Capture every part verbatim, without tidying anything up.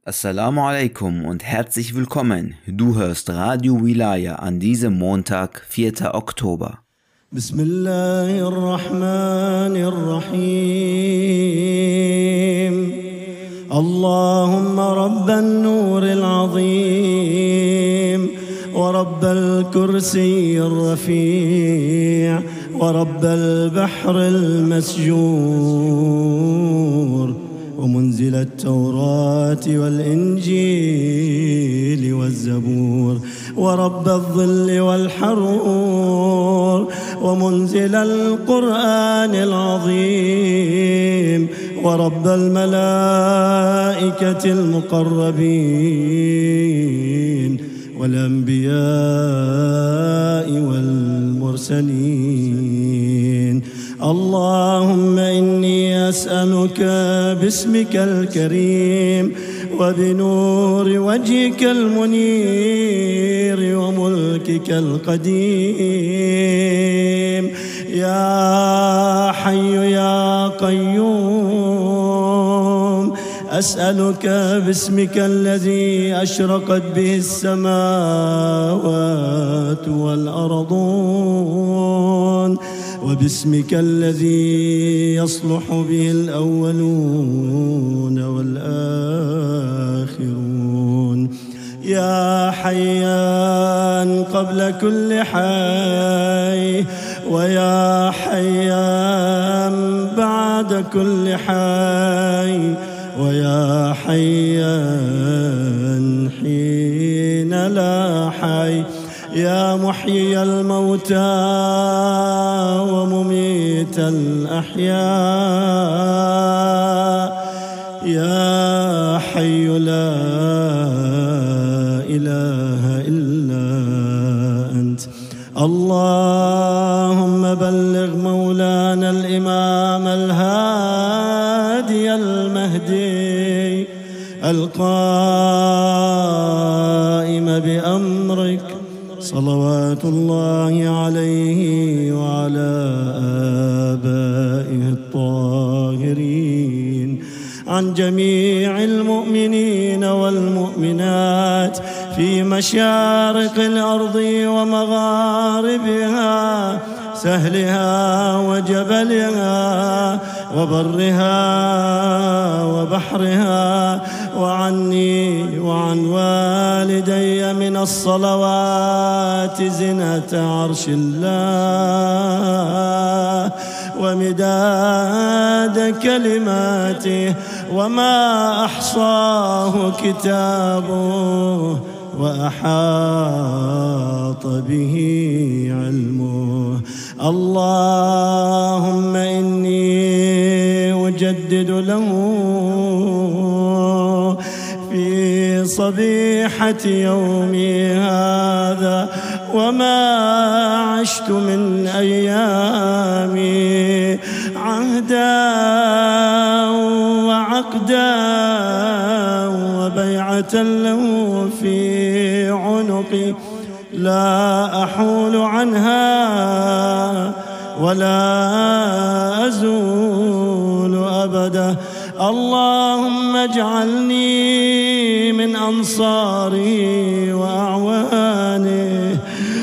Assalamu alaikum und herzlich willkommen. Du hörst Radio Wilaya an diesem Montag, vierter Oktober. Bismillahirrahmanirrahim. Allahumma rabban nuril azim wa rabbal kursiyir rafi' wa rabbal bahril masjur ومنزل التوراة والإنجيل والزبور ورب الظل والحرور ومنزل القرآن العظيم ورب الملائكة المقربين والأنبياء والمرسلين. اللهم إني أسألك باسمك الكريم وبنور وجهك المنير وملكك القديم يا حي يا قيوم، أسألك باسمك الذي أشرقت به السماوات والأرضون وباسمك الذي يصلح به الأولون والآخرون يا حيان قبل كل حي ويا حيان بعد كل حي ويا حيان حين لا حي يا محيي الموتى ومميت الأحياء يا حي لا إله إلا أنت. اللهم بلغ مولانا الإمام الهادي المهدي القائم بأمرك صلوات الله عليه وعلى آبائه الطاهرين، عن جميع المؤمنين والمؤمنات في مشارق الأرض ومغاربها، سهلها وجبلها وبرها وبحرها، وعني وعن والدي من الصلوات زنة عرش الله ومداد كلماته وما أحصاه كتابه وأحاط به علمه. اللهم إني أجدد له في صبيحة يومي هذا وما عشت من أيامي عهدا وعقدا وبيعة له في عنقي لا أحول عنها ولا أزول أبدا. اللهم اجعلني من أنصاره وأعوانه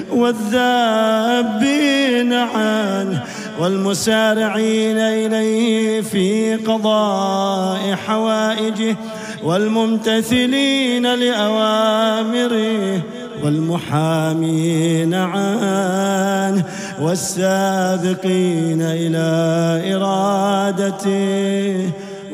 والذابين عنه والمسارعين إليه في قضاء حوائجه والممتثلين لأوامره والمحامين عنه والسابقين إلى إرادته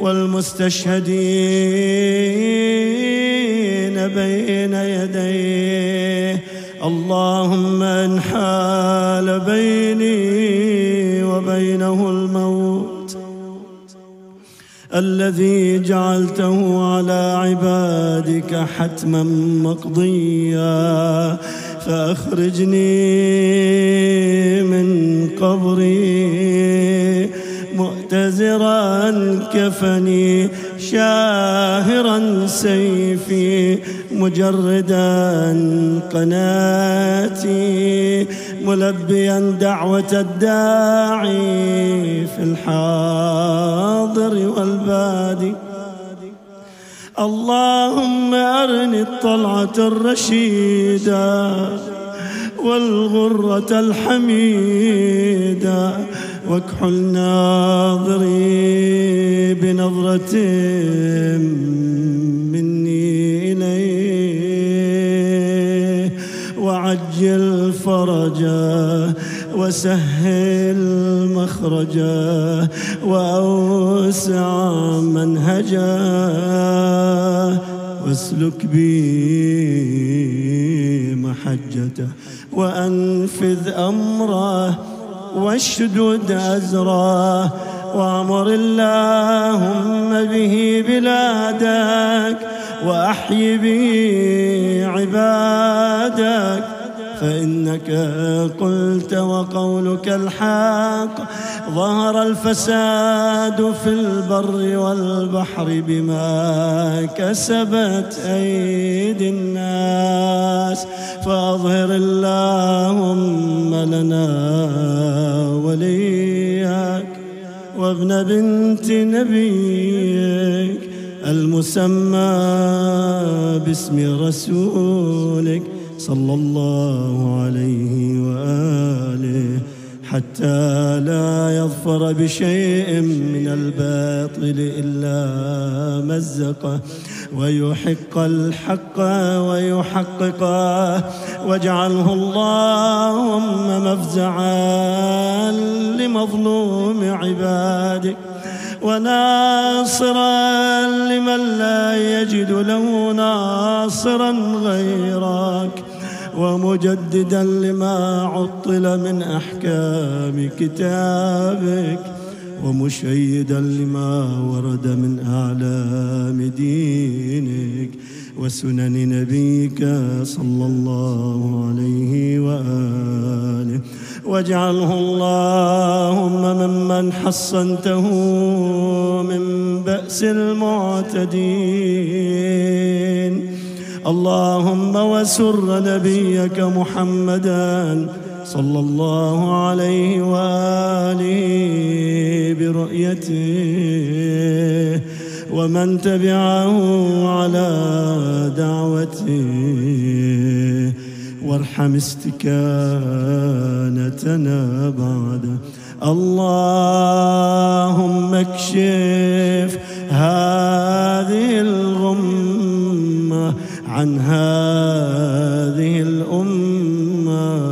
والمستشهدين بين يديه. اللهم إن حال بيني وبينه الموت الذي جعلته على عبادك حتما مقضيا فأخرجني من قبري مؤتزرا كفني شاهرا سيفي مجردا قناتي ملبيا دعوة الداعي في الحاضر والبادي. اللهم أرني الطلعة الرشيدة والغرة الحميدة واكحل ناظري بنظرة مني إليه وعجل فرجه وسهل مخرجه وأوسع منهجه واسلك بي محجته وأنفذ أمره واشدد أزره وأمر اللهم به بلادك وأحي به عبادك فإنك قلت وقولك الحق ظهر الفساد في البر والبحر بما كسبت أيدي الناس فأظهر اللهم لنا وليك وابن بنت نبيك المسمى باسم رسولك صلى الله عليه وآله حتى لا يظفر بشيء من الباطل إلا مزقه ويحق الحق ويحققه واجعله اللهم مفزعا لمظلوم عبادك وناصرا لمن لا يجد له ناصرا غيرك ومجددا لما عطل من أحكام كتابك ومشيدا لما ورد من أعلام دينك وسنن نبيك صلى الله عليه وآله واجعله اللهم ممن حصنته من بأس المعتدين اللهم وسر نبيك محمدا صلى الله عليه وآله برؤيته ومن تبعه على دعوته وارحم استكانتنا بعده اللهم اكشف هذه الغمة عن هذه الأمة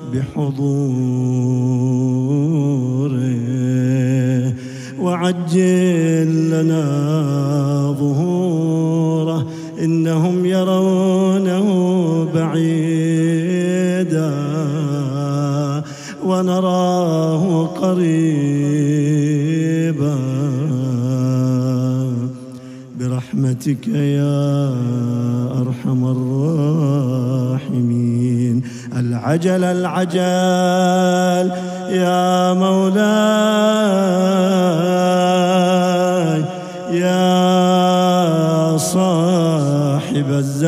بحضوره وعجل لنا ظهوره إنهم يرونه بعيدا ونراه قريبا برحمتك يا أرحم الراحمين العجل العجل يا مولاي يا صاحب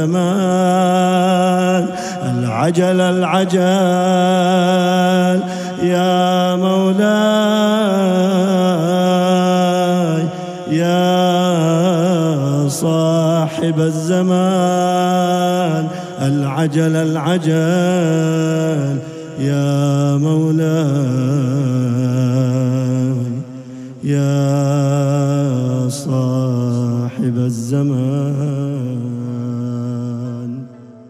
الزمان العجل العجل يا مولاي يا صاحب الزمان العجل العجل يا مولاي يا صاحب الزمان.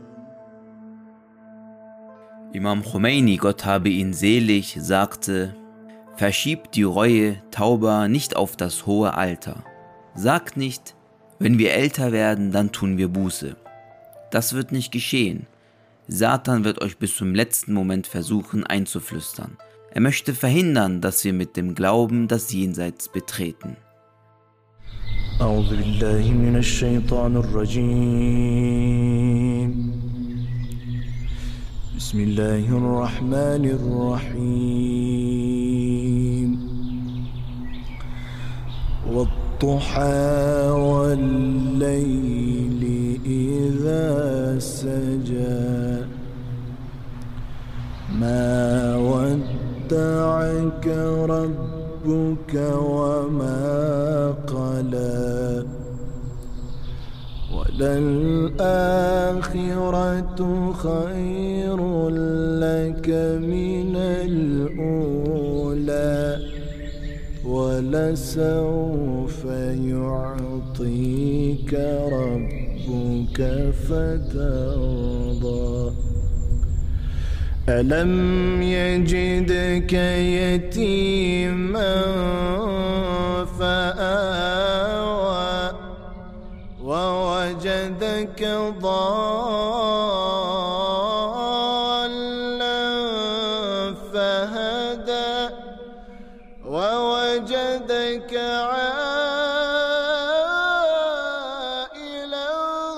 Imam Khomeini, Gott habe ihn selig, sagte: Verschiebt die Reue, Tauba, nicht auf das hohe Alter. Sagt nicht, wenn wir älter werden, dann tun wir Buße. Das wird nicht geschehen. Satan wird euch bis zum letzten Moment versuchen einzuflüstern. Er möchte verhindern, dass wir mit dem Glauben das Jenseits betreten. أعوذ بالله من الشيطان الرجيم. بسم الله الرحمن الرحيم. والضحى والليل إذا سجى ما ودعك ربك وما قلى وللآخرة خير لك من الأولى ولسوف يعطيك ربك فترضى ألم يجدك يتيما فآوى ووجدك ضالا فهدى ووجدك عائلا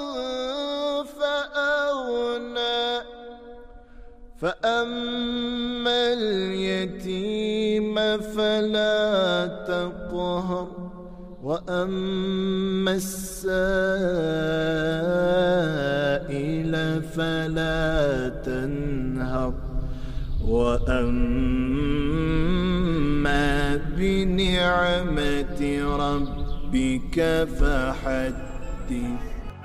فأغنى فأما اليتيم فلا تقهر وأما السائل فلا تنهر وأما بنعمة ربك فحدث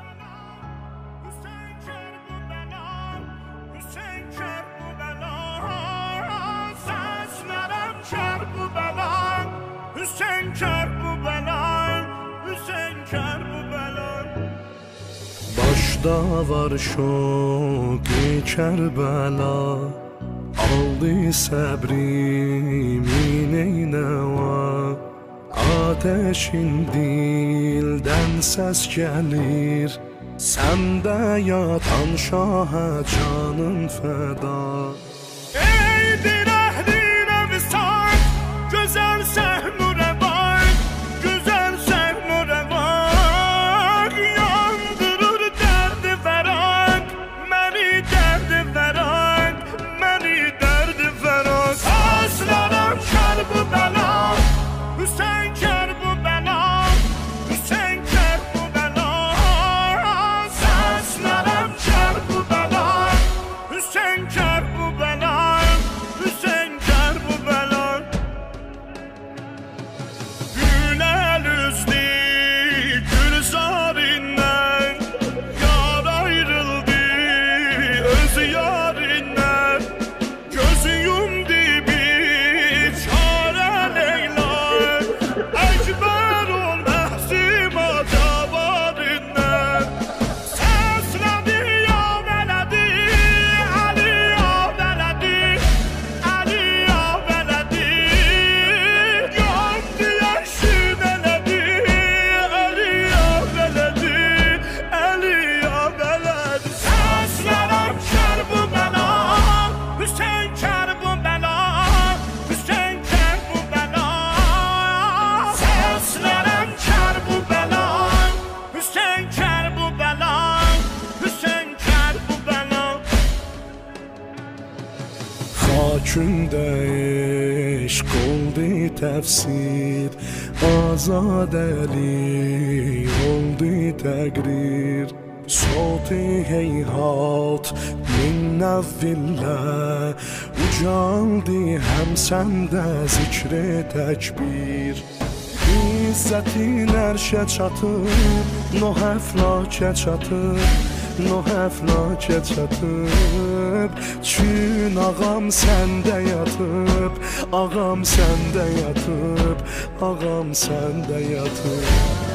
Başda var şoki Kerbela aldı səbrimin eynəva Ateşin dildən səs gəlir Səndə yatan şahə canın fəda Eydir əhlinə visat Gözəl səhnurə bak Güzel səhnurə bak Yandırır dərdi fəraq Məni dərdi fəraq Məni dərdi fəraq Saçlarım kər bu bəla Hüseyin kər bu bəla Hüseyin kər bu bəla Saçlarım kər bu bəla Hüseyin kər bu bəla Hüseyin kər bu bəla Gülər üzdü gülzarindən Yar ayrıldı öz yarindən Gözü yumdu bir çare Leyla Əkbər ol məhsim acabarindən Səslədi ya vələdi Ali ya vələdi Ali ya vələdi Yandı yaşın elədi Ali ya vələdi Ali ya vələdi Səslərəm kər bu bəla Hüseyin kər bu bəla Hüseyin kər bu bəla Səslərəm kər bu bəla Hüseyin kər bu bəla Hüseyin kər bu bəla Xakündə eşq oldu təfsir Azadəli oldu təqrir Soti heyhat min nəvvillə Ucaldı həm səndə zikr-i təkbir İzzətin ərşə çatıb Noh əflakə çatıb Noh əflakə çatıb Çün ağam səndə yatıb Ağam səndə yatıb Ağam səndə yatıb